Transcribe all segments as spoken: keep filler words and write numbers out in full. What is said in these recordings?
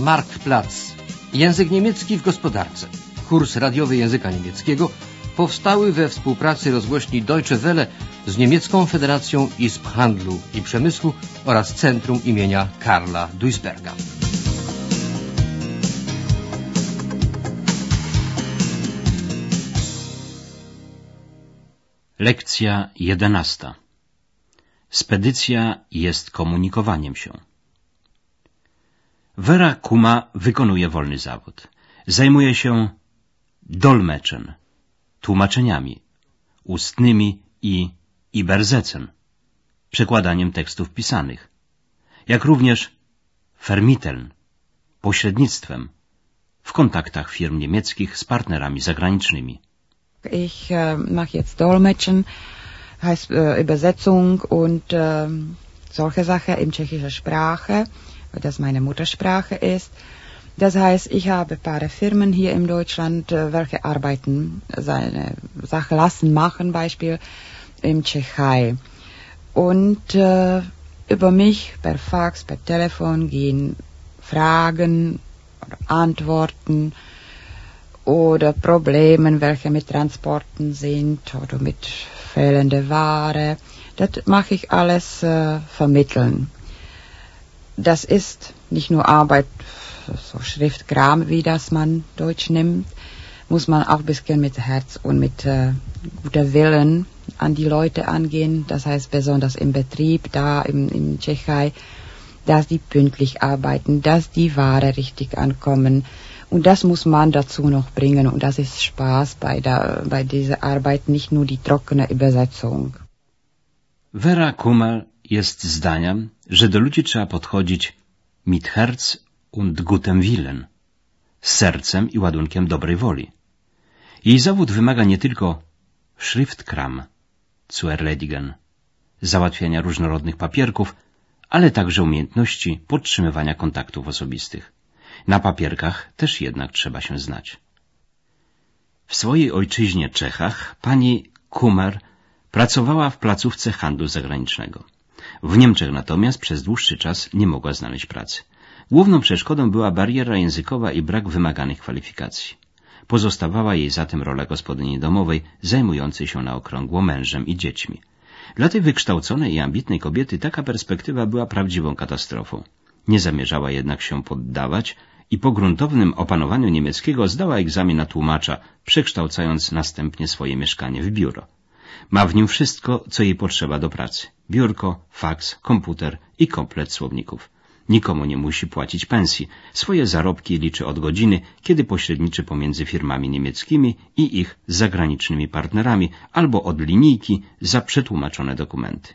Marktplatz. Język niemiecki w gospodarce. Kurs radiowy języka niemieckiego powstały we współpracy rozgłośni Deutsche Welle z Niemiecką Federacją Izb Handlu i Przemysłu oraz Centrum imienia Karla Duisberga. Lekcja jedenasta. Spedycja jest komunikowaniem się. Vera Kuma wykonuje wolny zawód. Zajmuje się dolmeczem, tłumaczeniami, ustnymi i übersetzen, przekładaniem tekstów pisanych, jak również vermitteln, pośrednictwem w kontaktach firm niemieckich z partnerami zagranicznymi. Ich äh, mache jetzt Dolmetschen, heißt äh, Übersetzung und äh, solche Sachen in tschechischer Sprache, weil das meine Muttersprache ist. Das heißt, ich habe ein paar Firmen hier in Deutschland, äh, welche arbeiten, seine Sache lassen, machen, Beispiel in Tschechei. Und äh, über mich per Fax, per Telefon gehen Fragen oder Antworten oder Problemen, welche mit Transporten sind oder mit fehlender Ware. Das mache ich alles äh, vermitteln. Das ist nicht nur Arbeit, so Schriftkram, wie das man Deutsch nimmt, muss man auch ein bisschen mit Herz und mit äh, guter Willen an die Leute angehen. Das heißt besonders im Betrieb, da in, in Tschechei, dass die pünktlich arbeiten, dass die Ware richtig ankommen. Und das muss man dazu noch bringen. Und das ist Spaß bei, der, bei dieser Arbeit, nicht nur die trockene Übersetzung. Vera Kuma jest zdania, że do ludzi trzeba podchodzić mit Herz und gutem Willen, z sercem i ładunkiem dobrej woli. Jej zawód wymaga nie tylko Schriftkram zu erledigen, załatwiania różnorodnych papierków, ale także umiejętności podtrzymywania kontaktów osobistych. Na papierkach też jednak trzeba się znać. W swojej ojczyźnie Czechach pani Kummer pracowała w placówce handlu zagranicznego. W Niemczech natomiast przez dłuższy czas nie mogła znaleźć pracy. Główną przeszkodą była bariera językowa i brak wymaganych kwalifikacji. Pozostawała jej zatem rola gospodyni domowej, zajmującej się na okrągło mężem i dziećmi. Dla tej wykształconej i ambitnej kobiety taka perspektywa była prawdziwą katastrofą. Nie zamierzała jednak się poddawać i po gruntownym opanowaniu niemieckiego zdała egzamin na tłumacza, przekształcając następnie swoje mieszkanie w biuro. Ma w nim wszystko, co jej potrzeba do pracy. Biurko, faks, komputer i komplet słowników. Nikomu nie musi płacić pensji. Swoje zarobki liczy od godziny, kiedy pośredniczy pomiędzy firmami niemieckimi i ich zagranicznymi partnerami, albo od linijki za przetłumaczone dokumenty.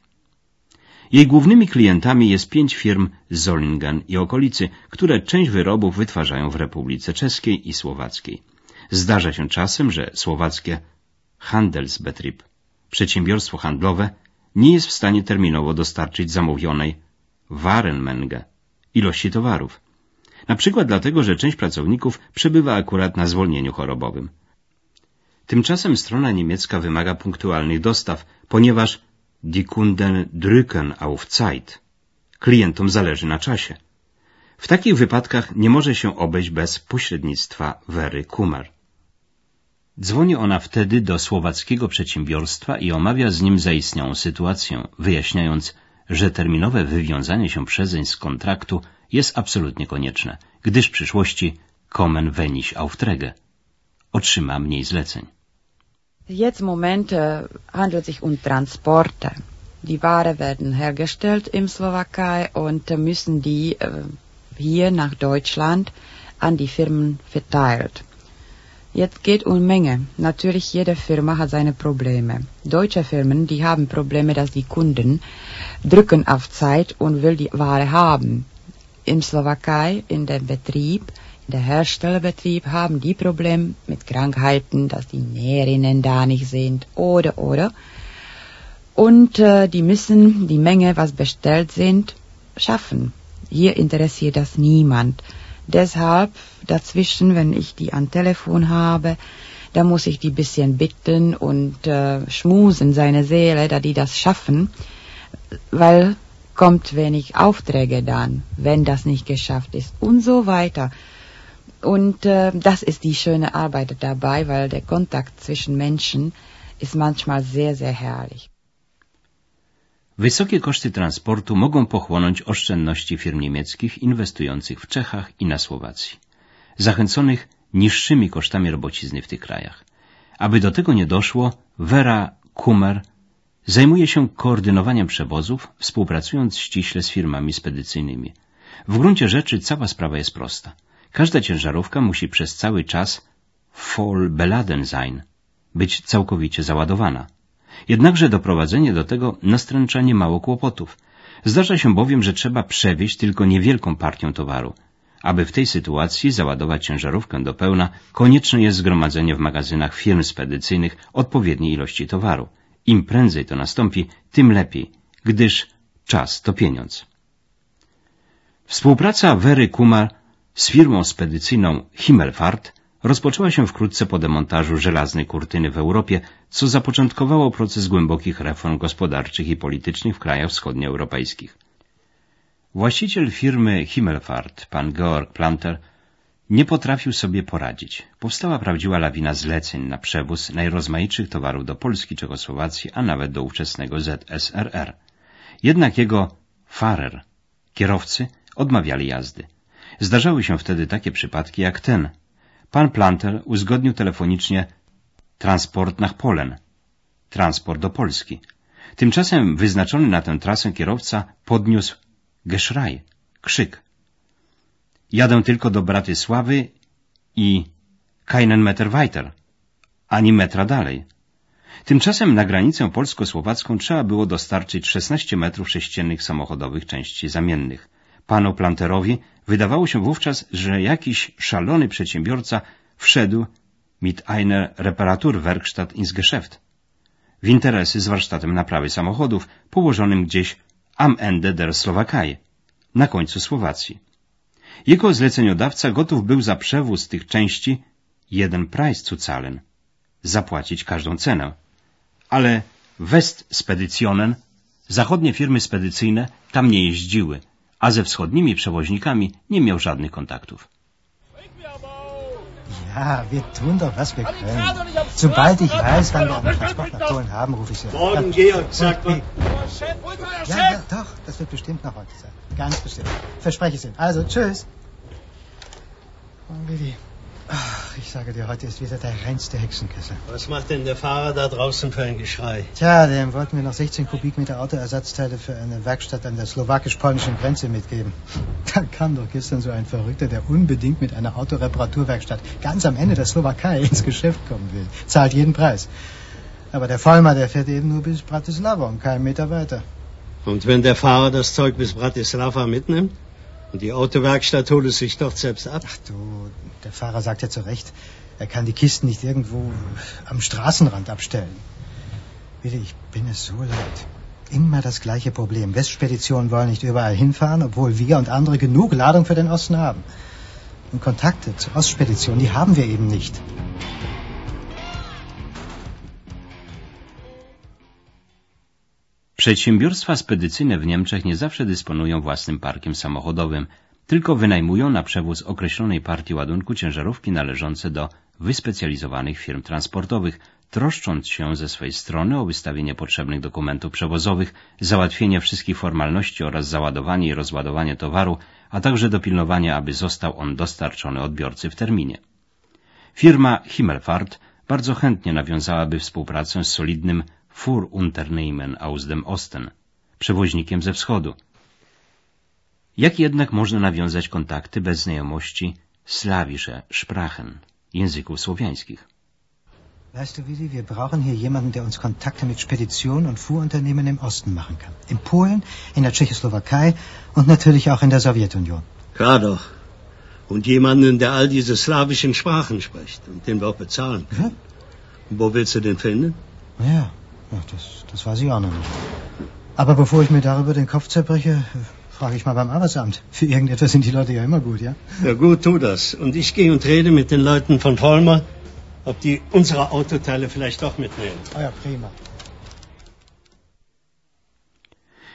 Jej głównymi klientami jest pięć firm z Solingen i okolicy, które część wyrobów wytwarzają w Republice Czeskiej i Słowackiej. Zdarza się czasem, że słowackie Handelsbetrieb, przedsiębiorstwo handlowe, nie jest w stanie terminowo dostarczyć zamówionej Warenmenge, ilości towarów. Na przykład dlatego, że część pracowników przebywa akurat na zwolnieniu chorobowym. Tymczasem strona niemiecka wymaga punktualnych dostaw, ponieważ die Kunden drücken auf Zeit. Klientom zależy na czasie. W takich wypadkach nie może się obejść bez pośrednictwa Very Kummer. Dzwoni ona wtedy do słowackiego przedsiębiorstwa i omawia z nim zaistniałą sytuację, wyjaśniając, że terminowe wywiązanie się przezeń z kontraktu jest absolutnie konieczne, gdyż w przyszłości kommen wenig Aufträge. Otrzyma mniej zleceń. Jetzt im Moment äh, handelt sich um Transporte. Die Ware werden hergestellt im Slowakei und äh, müssen die äh, hier nach Deutschland an die Firmen verteilt. Jetzt geht um Menge. Natürlich, jede Firma hat seine Probleme. Deutsche Firmen, die haben Probleme, dass die Kunden drücken auf Zeit und will die Ware haben. In Slowakei, in dem Betrieb, in der Herstellerbetrieb, haben die Probleme mit Krankheiten, dass die Näherinnen da nicht sind oder, oder. Und äh, die müssen die Menge, was bestellt sind, schaffen. Hier interessiert das niemand. Deshalb dazwischen, wenn ich die am Telefon habe, da muss ich die bisschen bitten und äh, schmusen seine Seele, da die das schaffen, weil bekommt wenig Aufträge dann, wenn das nicht geschafft ist und so weiter. Und äh, das ist die schöne Arbeit dabei, weil der Kontakt zwischen Menschen ist manchmal sehr, sehr herrlich. Wysokie koszty transportu mogą pochłonąć oszczędności firm niemieckich inwestujących w Czechach i na Słowacji, zachęconych niższymi kosztami robocizny w tych krajach. Aby do tego nie doszło, Vera Kummer zajmuje się koordynowaniem przewozów, współpracując ściśle z firmami spedycyjnymi. W gruncie rzeczy cała sprawa jest prosta. Każda ciężarówka musi przez cały czas voll beladen sein, być całkowicie załadowana. Jednakże doprowadzenie do tego nastręcza niemało kłopotów. Zdarza się bowiem, że trzeba przewieźć tylko niewielką partię towaru. Aby w tej sytuacji załadować ciężarówkę do pełna, konieczne jest zgromadzenie w magazynach firm spedycyjnych odpowiedniej ilości towaru. Im prędzej to nastąpi, tym lepiej, gdyż czas to pieniądz. Współpraca Very Kummer z firmą spedycyjną Himmelfahrt rozpoczęła się wkrótce po demontażu żelaznej kurtyny w Europie, co zapoczątkowało proces głębokich reform gospodarczych i politycznych w krajach wschodnioeuropejskich. Właściciel firmy Himmelfahrt, pan Georg Planter, nie potrafił sobie poradzić. Powstała prawdziwa lawina zleceń na przewóz najrozmaitszych towarów do Polski, Czechosłowacji, a nawet do ówczesnego Z S R R. Jednak jego Fahrer, kierowcy, odmawiali jazdy. Zdarzały się wtedy takie przypadki jak ten. Pan Planter uzgodnił telefonicznie transport nach Polen, transport do Polski. Tymczasem wyznaczony na tę trasę kierowca podniósł Geschrei, krzyk. Jadę tylko do Bratysławy i keinen Meter weiter, ani metra dalej. Tymczasem na granicę polsko-słowacką trzeba było dostarczyć szesnaście metrów sześciennych samochodowych części zamiennych. Panu Planterowi wydawało się wówczas, że jakiś szalony przedsiębiorca wszedł mit einer Reparaturwerkstatt ins Geschäft, w interesy z warsztatem naprawy samochodów położonym gdzieś am Ende der Slowakei, na końcu Słowacji. Jego zleceniodawca gotów był za przewóz tych części jeden Preis zu zahlen, zapłacić każdą cenę. Ale Westspedytionen, zachodnie firmy spedycyjne, tam nie jeździły, a ze wschodnimi przewoźnikami nie miał żadnych kontaktów. Ja, wir tun doch, was wir können. Sobald ich weiß, wann wir einen Transport nach Polen haben, rufe ich Sie an. Morgen, Georg, sagt man. Ja, ja, doch, das wird bestimmt noch heute sein. Ganz bestimmt. Verspreche es Ihnen. Also, tschüss. Oh, Willi. Ach, ich sage dir, heute ist wieder der reinste Hexenkessel. Was macht denn der Fahrer da draußen für ein Geschrei? Tja, dem wollten wir noch sechzehn Kubikmeter Autoersatzteile für eine Werkstatt an der slowakisch-polnischen Grenze mitgeben. Da kam doch gestern so ein Verrückter, der unbedingt mit einer Autoreparaturwerkstatt ganz am Ende der Slowakei ins Geschäft kommen will. Zahlt jeden Preis. Aber der Vollmer, der fährt eben nur bis Bratislava und keinen Meter weiter. Und wenn der Fahrer das Zeug bis Bratislava mitnimmt? Und die Autowerkstatt holt es sich dort selbst ab? Ach du, der Fahrer sagt ja zu Recht, er kann die Kisten nicht irgendwo am Straßenrand abstellen. Willi, ich bin es so leid. Immer das gleiche Problem. Westspeditionen wollen nicht überall hinfahren, obwohl wir und andere genug Ladung für den Osten haben. Und Kontakte zu Ostspeditionen, die haben wir eben nicht. Przedsiębiorstwa spedycyjne w Niemczech nie zawsze dysponują własnym parkiem samochodowym, tylko wynajmują na przewóz określonej partii ładunku ciężarówki należące do wyspecjalizowanych firm transportowych, troszcząc się ze swej strony o wystawienie potrzebnych dokumentów przewozowych, załatwienie wszystkich formalności oraz załadowanie i rozładowanie towaru, a także dopilnowanie, aby został on dostarczony odbiorcy w terminie. Firma Himmelfahrt bardzo chętnie nawiązałaby współpracę z solidnym Fuhrunternehmen aus dem Osten, przewoźnikiem ze wschodu. Jak jednak można nawiązać kontakty bez znajomości slawische Sprachen, języków słowiańskich? Weißt du, Willi, wir brauchen hier jemanden, der uns Kontakte mit Speditionen und Fuhrunternehmen im Osten machen kann. In Polen, in der Tschechoslowakei und natürlich auch in der Sowjetunion. Klar doch. Und jemanden, der all diese slawischen Sprachen spricht und den wir auch bezahlen können. Ja? Und wo willst du den finden? Ja, ja das, das weiß ich auch noch nicht. Aber bevor ich mir darüber den Kopf zerbreche, frage ich mal beim Arbeitsamt. Für irgendetwas sind die Leute ja immer gut, ja? Ja gut, tu das. Und ich gehe und rede mit den Leuten von Vollmer, ob die unsere Autoteile vielleicht doch mitnehmen. Oh ja, prima.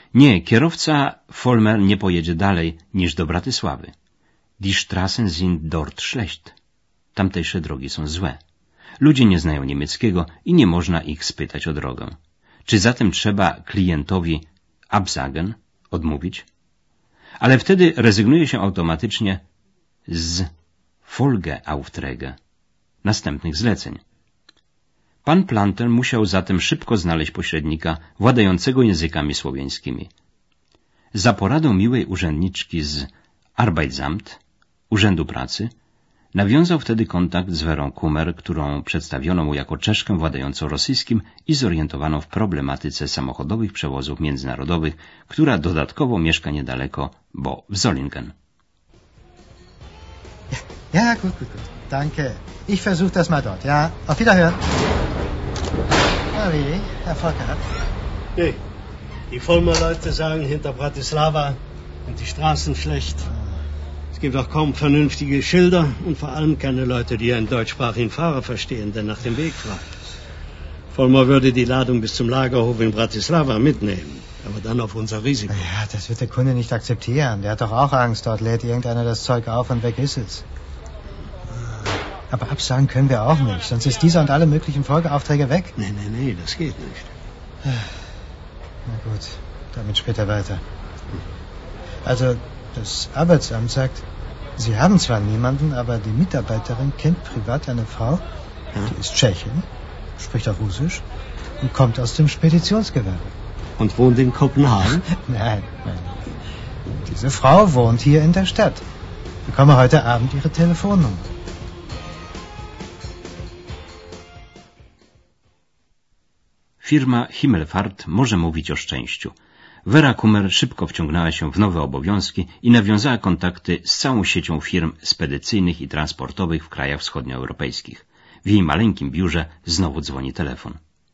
Nie, kierowca Vollmer nie pojedzie dalej niż do Bratysławy. Die Straßen sind dort schlecht. Tamtejsze drogi są złe. Ludzie nie znają niemieckiego i nie można ich spytać o drogę. Czy zatem trzeba klientowi absagen, odmówić? Ale wtedy rezygnuje się automatycznie z Folgeaufträge, następnych zleceń. Pan Plantel musiał zatem szybko znaleźć pośrednika władającego językami słowiańskimi. Za poradą miłej urzędniczki z Arbeitsamt, Urzędu Pracy, nawiązał wtedy kontakt z Werą Kummer, którą przedstawiono mu jako Czeszkę władającą rosyjskim i zorientowaną w problematyce samochodowych przewozów międzynarodowych, która dodatkowo mieszka niedaleko, bo w Solingen. Ja, ja, gut, gut, gut. Danke. Ich versuche das mal dort, ja? Auf Wiederhören. Na wie, Erfolg gehabt? Nee, die Vollmer-Leute sagen hinter Bratislava sind die Straßen schlecht. Es gibt auch kaum vernünftige Schilder und vor allem keine Leute, die einen deutschsprachigen Fahrer verstehen, der nach dem Weg fragt. Vollmer würde die Ladung bis zum Lagerhof in Bratislava mitnehmen, aber dann auf unser Risiko. Ja, das wird der Kunde nicht akzeptieren. Der hat doch auch Angst, dort lädt irgendeiner das Zeug auf und weg ist es. Aber absagen können wir auch nicht, sonst ist dieser und alle möglichen Folgeaufträge weg. Nee, nee, nee, das geht nicht. Na gut, damit später weiter. Also, das Arbeitsamt sagt, Sie haben zwar niemanden, aber die Mitarbeiterin kennt privat eine Frau, die ist Tschechin, spricht auch Russisch und kommt aus dem Speditionsgewerbe. Und wohnt in Kopenhagen? Nein, nein. Diese Frau wohnt hier in der Stadt. Ich bekomme heute Abend ihre Telefonnummer. Firma Himmelfahrt może mówić o szczęściu. Vera Kummer szybko wciągnęła się w nowe obowiązki i nawiązała kontakty z całą siecią firm spedycyjnych i transportowych w krajach wschodnioeuropejskich. W jej maleńkim biurze znowu dzwoni telefon.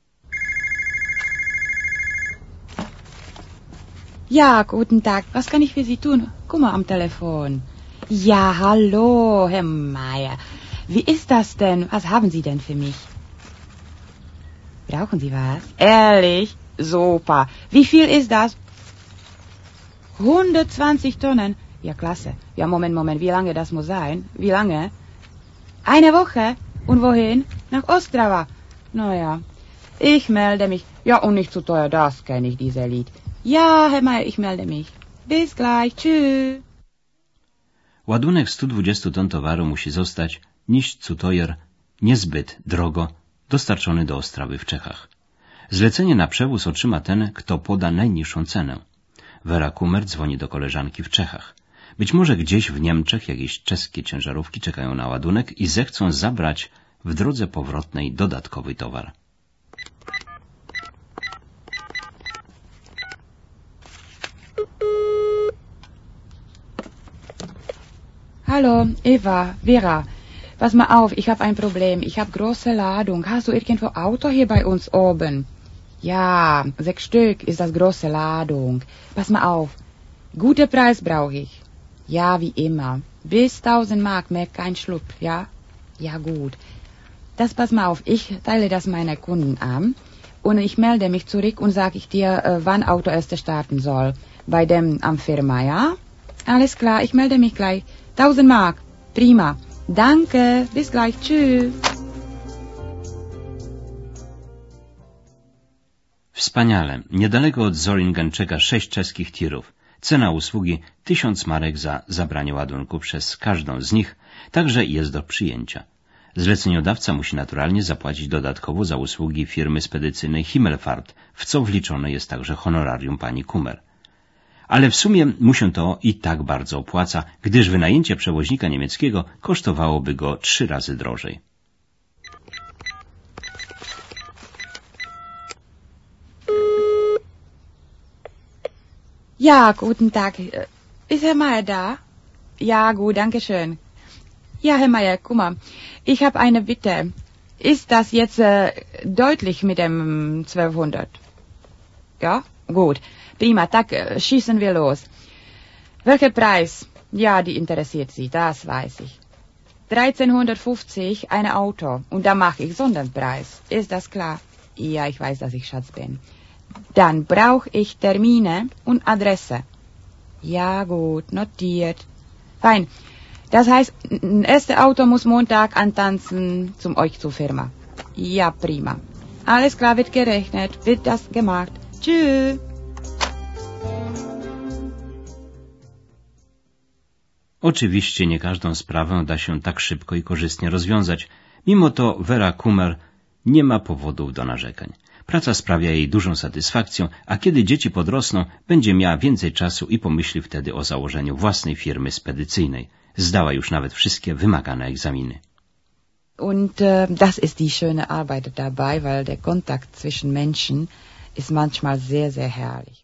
Ja, guten Tag. Was kann ich für Sie tun? Kummer am Telefon. Ja, hallo, Herr Meier. Wie ist das denn? Was haben Sie denn für mich? Brauchen Sie was? Ehrlich? Super. Wie viel ist das? hundertzwanzig Tonnen. Ja, klasse. Ja, Moment, Moment. Wie lange das muss sein? Wie lange? Eine Woche. Und wohin? Nach Ostrava. Naja, ich melde mich. Ja, und nicht zu teuer, das kenne ich, dieses Lied. Ja, Herr Meier, ich melde mich. Bis gleich. Tschüss. Ładunek stu dwudziestu ton towaru musi zostać, nicht zu teuer, niezbyt drogo, dostarczony do Ostrawy w Czechach. Zlecenie na przewóz otrzyma ten, kto poda najniższą cenę. Vera Kummer dzwoni do koleżanki w Czechach. Być może gdzieś w Niemczech jakieś czeskie ciężarówki czekają na ładunek i zechcą zabrać w drodze powrotnej dodatkowy towar. Hallo, Eva, Vera. Pass mal auf, ich habe ein Problem. Ich habe große Ladung. Hast du irgendwo Auto hier bei uns oben? Ja, sechs Stück ist das große Ladung. Pass mal auf. Guter Preis brauche ich. Ja, wie immer. Bis tausend Mark, mehr kein Schlupf, ja? Ja, gut. Das pass mal auf, ich teile das meiner Kunden an und ich melde mich zurück und sage ich dir, äh, wann Auto erst starten soll. Bei dem am Firma, ja? Alles klar, ich melde mich gleich. Tausend Mark. Prima. Danke. Bis gleich. Tschüss. Wspaniale. Niedaleko od Solingen czeka sześć czeskich tirów. Cena usługi tysiąc marek za zabranie ładunku przez każdą z nich, także jest do przyjęcia. Zleceniodawca musi naturalnie zapłacić dodatkowo za usługi firmy spedycyjnej Himmelfahrt, w co wliczone jest także honorarium pani Kummer. Ale w sumie mu się to i tak bardzo opłaca, gdyż wynajęcie przewoźnika niemieckiego kosztowałoby go trzy razy drożej. Ja, guten Tag. Ist Herr Meier da? Ja, gut, danke schön. Ja, Herr Meier, guck mal, ich habe eine Bitte. Ist das jetzt äh, deutlich mit dem zwölfhundert? Ja, gut. Prima, tak, äh, schießen wir los. Welcher Preis? Ja, die interessiert Sie, das weiß ich. dreizehnhundertfünfzig, ein Auto. Und da mache ich Sonderpreis. Ist das klar? Ja, ich weiß, dass ich Schatz bin. Dann brauche ich Termine und Adresse. Ja, gut, notiert. Fein. Das heißt, das erste Auto muss Montag antanzen zum euch zur Firma. Ja, prima. Alles klar, wird gerechnet, wird das gemacht. Tschüss. Oczywiście nie każdą sprawę da się tak szybko i korzystnie rozwiązać. Mimo to Vera Kummer nie ma powodów do narzekań. Praca sprawia jej dużą satysfakcję, a kiedy dzieci podrosną, będzie miała więcej czasu i pomyśli wtedy o założeniu własnej firmy spedycyjnej. Zdała już nawet wszystkie wymagane egzaminy. Und äh, das ist die schöne Arbeit dabei, weil der Kontakt zwischen Menschen ist manchmal sehr, sehr herrlich.